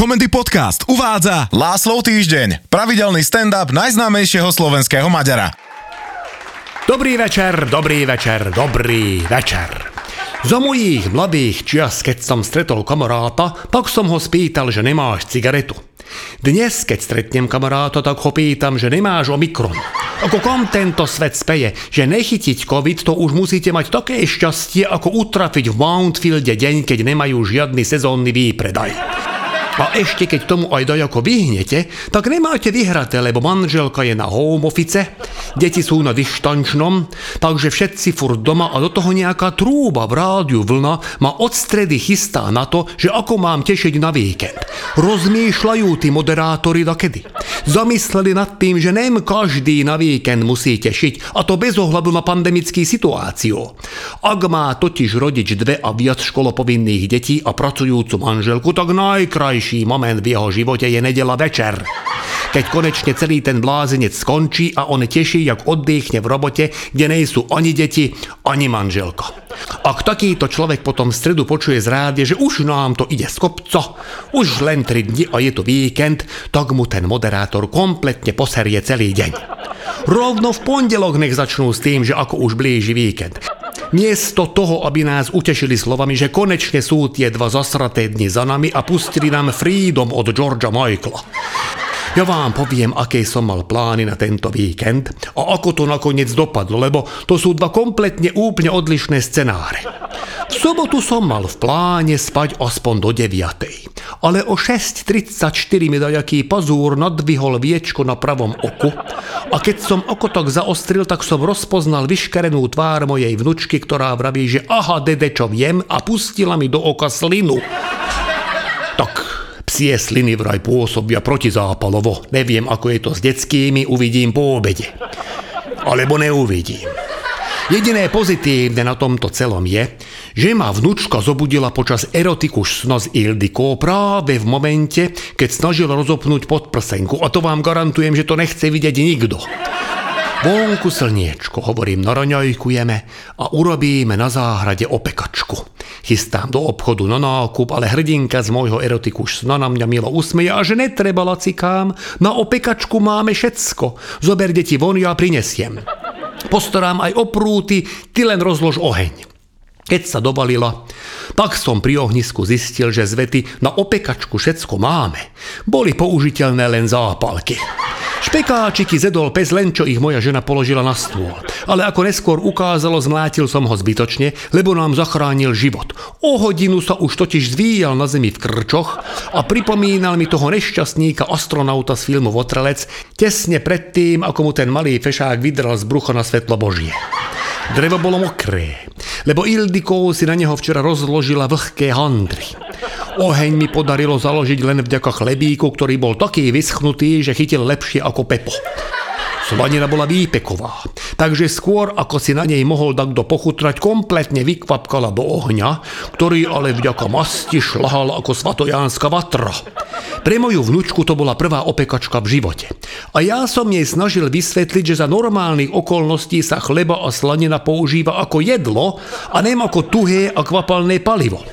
Komendy Podcast uvádza Láslov týždeň, pravidelný stand-up najznámejšieho slovenského Maďara. Dobrý večer. Za mojich mladých čias, keď som stretol kamaráta, tak som ho spýtal, že nemáš cigaretu. Dnes, keď stretnem kamaráta, tak ho pýtam, že nemáš Omikron. Ako kam tento svet speje, že nechytiť COVID, to už musíte mať také šťastie, ako utrafiť v Mountfielde deň, keď nemajú žiadny sezónny výpredaj. A ešte keď tomu aj dajako vyhnete, tak nemáte vyhraté, lebo manželka je na home office, deti sú na dištančnom, takže všetci furt doma a do toho nejaká trúba v rádiu Vlna ma od stredy chystá na to, že ako mám tešiť na víkend. Rozmýšľajú tí moderátori dakedy. Zamysleli nad tým, že nem každý na víkend musí tešiť, a to bez ohľadu na pandemickú situáciu. Ak má totiž rodič 2 a viac školopovinných detí a pracujúcu manželku, tak najkrajší moment v jeho živote je nedeľa večer. Keď konečne celý ten blázenec skončí a on teší, jak oddychne v robote, kde nejsú ani deti, ani manželka. Ak takýto človek potom v stredu počuje z rádia, že už nám to ide z kopca, už len 3 dni a je to víkend, tak mu ten moderátor kompletne poserie celý deň. Rovno v pondelok nech začnú s tým, že ako už blíži víkend. Miesto toho, aby nás utešili slovami, že konečne sú tie 2 zasraté dni za nami a pustili nám Freedom od Georgea Michaela. Ja vám poviem, aké som mal plány na tento víkend a ako to nakoniec dopadlo, lebo to sú 2 kompletne úplne odlišné scenáre. V sobotu som mal v pláne spať aspoň do 9. Ale o 6:34 mi dajaký pazúr nadvihol viečko na pravom oku a keď som oko tak zaostril, tak som rozpoznal vyškerenú tvár mojej vnučky, ktorá vraví, že aha, dede, čo viem, a pustila mi do oka slinu. Tak psie sliny vraj pôsobia protizápalovo. Neviem, ako je to s detskými, uvidím po obede. Alebo neuvidím. Jediné pozitívne na tomto celom je, že ma vnučka zobudila počas erotikus sna s Ildikou práve v momente, keď snažil rozopnúť podprsenku, a to vám garantujem, že to nechce vidieť nikto. Vonku slniečko, hovorím, naraňajkujeme a urobíme na záhrade opekačku. Chystám do obchodu na nákup, ale hrdinka z môjho erotikus sna na mňa milo usmeje a že netreba, lacikám, na opekačku máme všetko. Zober deti von, ja prinesiem. Postarám aj o prúty, ty len rozlož oheň. Keď sa dobalila, tak som pri ohnisku zistil, že z vety na opekačku všetko máme. Boli použiteľné len zápalky. Špekáčiky zedol pes, len čo ich moja žena položila na stôl. Ale ako neskôr ukázalo, zmlátil som ho zbytočne, lebo nám zachránil život. O hodinu sa už totiž zvíjal na zemi v krčoch a pripomínal mi toho nešťastníka astronauta z filmu Votrelec tesne predtým, ako mu ten malý fešák vydral z brucha na svetlo Božie. Drevo bolo mokré, lebo Ildikou si na neho včera rozložila vlhké handry. Oheň mi podarilo založiť len vďaka chlebíku, ktorý bol taký vyschnutý, že chytil lepšie ako Pepo. Slanina bola výpeková, takže skôr ako si na nej mohol takto pochutrať, kompletne vykvapkala do ohňa, ktorý ale vďaka masti šľahal ako svatojánska vatra. Pre moju vnučku to bola prvá opekačka v živote. A ja som jej snažil vysvetliť, že za normálnych okolností sa chleba a slanina používa ako jedlo a nem ako tuhé a kvapalné palivo.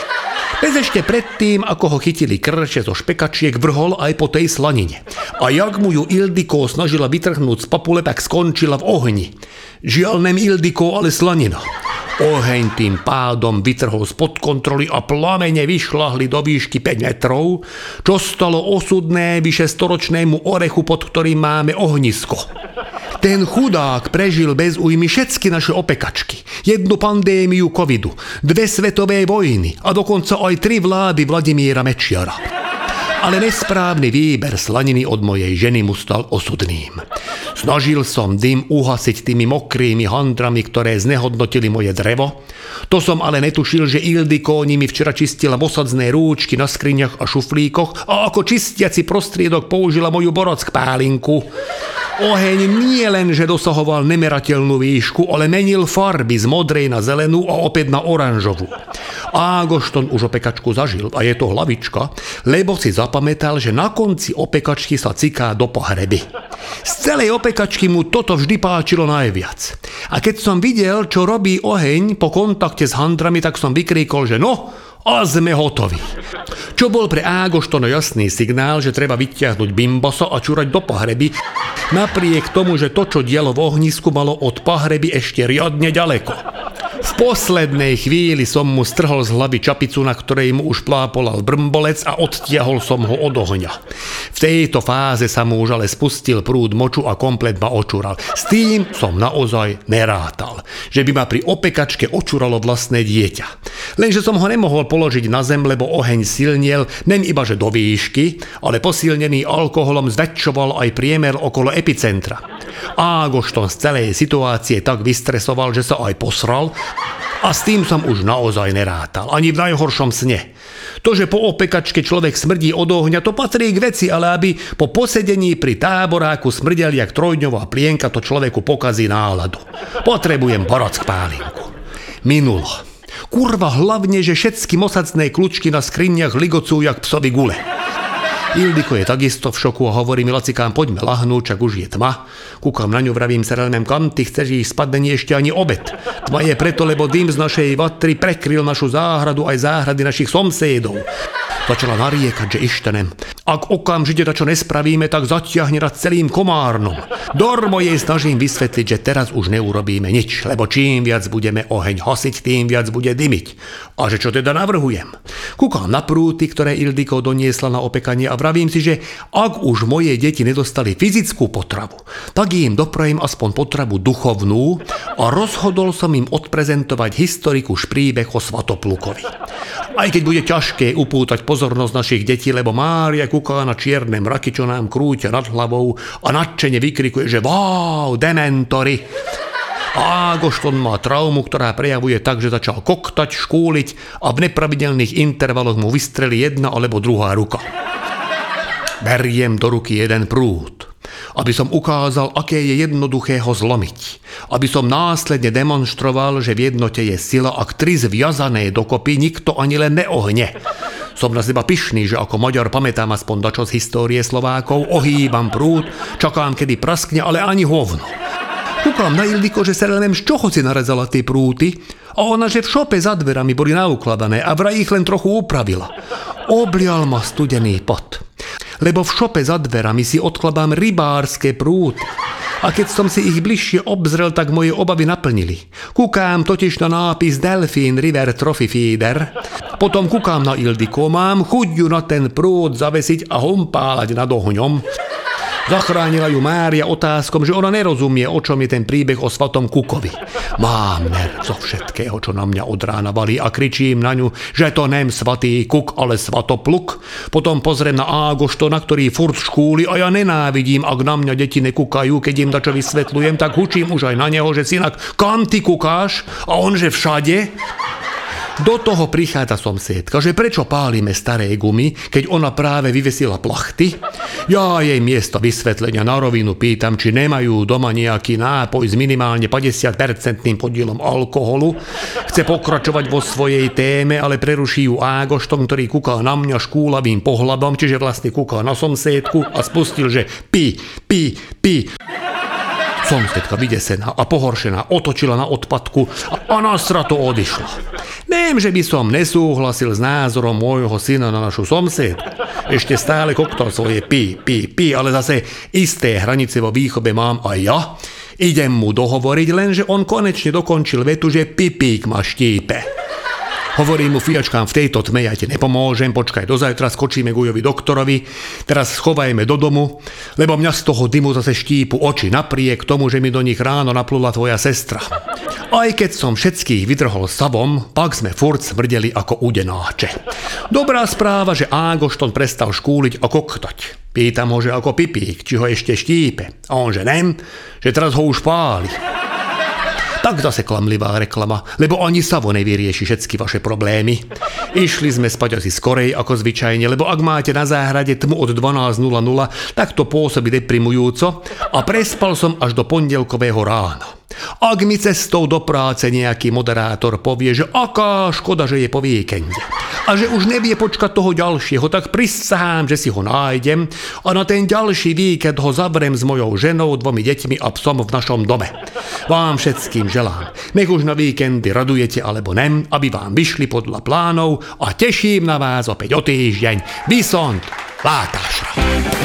Bez ešte predtým, ako ho chytili krče zo špekačiek, vrhol aj po tej slanine. A jak mu ju Ildiko snažila vytrhnúť z papule, tak skončila v ohni. Žiaľ, nem Ildiko, ale slanina. Oheň tým pádom vytrhol spod kontroly a plamene vyšľahli do výšky 5 metrov, čo stalo osudné vyše 100-ročnému orechu, pod ktorým máme ohnisko. Ten chudák prežil bez újmy všetky naše opekačky, 1 pandémiu covidu, 2 svetové vojny a dokonca aj 3 vlády Vladimíra Mečiara. Ale nesprávny výber slaniny od mojej ženy mu stal osudným. Snažil som dym uhasiť tými mokrými handrami, ktoré znehodnotili moje drevo. To som ale netušil, že Ildiko nimi včera čistila osadzné rúčky na skriňach a šuflíkoch a ako čistiaci prostriedok použila moju borock-pálinku. Oheň nie len, že dosahoval nemerateľnú výšku, ale menil farby z modrej na zelenú a opäť na oranžovú. Ágošton už opekačku zažil a je to hlavička, lebo si zapamätal, že na konci opekačky sa ciká do pohreby. Z celej opekačky mu toto vždy páčilo najviac. A keď som videl, čo robí oheň po kontakte s handrami, tak som vykríkol, že no, A sme hotoví. Čo bol pre Ágoštona jasný signál, že treba vyťahnuť bimbosa a čurať do pohreby, napriek tomu, že to, čo dialo v ohnisku, malo od pohreby ešte riadne ďaleko. V poslednej chvíli som mu strhol z hlavy čapicu, na ktorej mu už plápolal brmbolec a odtiahol som ho od ohňa. V tejto fáze sa mu už ale spustil prúd moču a komplet ma očúral. S tým som naozaj nerátal, že by ma pri opekačke očúralo vlastné dieťa. Lenže som ho nemohol položiť na zem, lebo oheň silniel, nen iba že do výšky, ale posilnený alkoholom zväčšoval aj priemer okolo epicentra. Ágošton z celej situácie tak vystresoval, že sa aj posral, a s tým som už naozaj nerátal, ani v najhoršom sne. To, že po opekačke človek smrdí od ohňa, to patrí k veci, ale aby po posedení pri táboráku smrdel jak trojdňová plienka, to človeku pokazí náladu. Potrebujem borock pálinku. Minulo. Kurva, hlavne, že všetky mosacné kľúčky na skriniach ligocú jak psovi gule. Ildiko je takisto v šoku a hovorí mi: Lacikám, poďme lahnúť, čak už je tma. Kúkam na ňu, vravím sa relmem: kam ty chceš ísť, spadne nie ešte ani obed. Tma je preto, lebo dym z našej vatry prekryl našu záhradu aj záhrady našich somsédov. Začala nariekať, že ištenem. Ak okamžite čo nespravíme, tak zatiahne nad celým komárnom. Dormo jej snažím vysvetliť, že teraz už neurobíme nič, lebo čím viac budeme oheň hasiť, tým viac bude dymiť. A že čo teda navrhujem? Kúkam na prúty, ktoré Ildiko doniesla na opekanie a vravím si, že ak už moje deti nedostali fyzickú potravu, tak im doprajem aspoň potravu duchovnú a rozhodol som im odprezentovať historiku príbeh o Svatoplukovi. Aj keď bude ťažké upútať pozornosť našich detí, lebo Mária kúká na čierne mraky, čo nám krúťa nad hlavou a nadšene vykrikuje, že wow, dementori. A Ágošton má traumu, ktorá prejavuje tak, že začal koktať, škúliť a v nepravidelných intervaloch mu vystrelí jedna alebo druhá ruka. Beriem do ruky jeden prúd, aby som ukázal, aké je jednoduché ho zlomiť. Aby som následne demonstroval, že v jednote je sila, ak tri zviazané dokopy nikto ani len neohne. Som na seba pyšný, že ako Maďar pamätám aspoň dačo z histórie Slovákov, ohýbam prúd, čakám, kedy praskne, ale ani hovno. Kúkam na Ildiko, že sa len z čoho si narezala tie prúty, a ona, že v šope za dverami boli naukladané a vraj ich len trochu upravila. Oblial ma studený pot, lebo v šope za dverami si odkladám rybárske prúty. A keď som si ich bližšie obzrel, tak moje obavy naplnili. Kúkám totiž na nápis Delfín River Trophy Feeder. Potom kúkám na Ildiko, mám chuť ju na ten prúd zavesiť a humpálať nad ohňom. Zachránila ju Mária otázkom, že ona nerozumie, o čom je ten príbeh o Svatom Kukovi. Mám nerv zo všetkého, čo na mňa od rána valí, a kričím na ňu, že to nem Svatý Kuk, ale Svatopluk. Potom pozriem na Ágoštona, ktorý furt škúli, a ja nenávidím, ak na mňa deti nekúkajú, keď im dačo vysvetľujem, tak hučím už aj na neho, že synak, kam ty kukáš? A on, že všade. Do toho prichádza somsiedka, že prečo pálime staré gumy, keď ona práve vyvesila plachty. Ja jej miesto vysvetlenia na rovinu pýtam, či nemajú doma nejaký nápoj s minimálne 50% podielom alkoholu. Chce pokračovať vo svojej téme, ale preruší ju Ágošton, ktorý kúka na mňa škúlavým pohľadom, čiže vlastne kúka na somsiedku a spustil, že pi. Somsiedka vydesená a pohoršená otočila na odpadku a nasrato odišla. Neviem, že by som nesúhlasil s názorom môjho syna na našu somsiedku. Ešte stále koktal svoje pi, ale zase isté hranice vo výchove mám aj ja. Idem mu dohovoriť, lenže on konečne dokončil vetu, že pipík ma štípe. Hovorím mu, fiačkám, v tejto tme ja ti nepomôžem, počkaj do zajtra, skočíme k ujovi doktorovi, teraz schovajme do domu, lebo mňa z toho dymu zase štípu oči, napriek tomu, že mi do nich ráno naplula tvoja sestra. Aj keď som všetkých vydrhol savom, pak sme furt smrdeli ako udenáče. Dobrá správa, že Ágošton prestal škúliť a koktať. Pýtam ho, že ako pipík, či ho ešte štípe. A on, že nem, že teraz ho už páli. Tak zase klamlivá reklama, lebo ani Savo nevyrieši všetky vaše problémy. Išli sme spať asi skorej ako zvyčajne, lebo ak máte na záhrade tmu od 12:00, tak to pôsobí deprimujúco, a prespal som až do pondelkového rána. Ak mi cestou do práce nejaký moderátor povie, že aká škoda, že je po víkende a že už nevie počkať toho ďalšieho, tak prisahám, že si ho nájdem a na ten ďalší víkend ho zavrem s mojou ženou, 2 deťmi a psom v našom dome. Vám všetkým želám, nech už na víkendy radujete alebo nem, aby vám vyšli podľa plánov a teším na vás opäť o týždeň. Visont, látášra.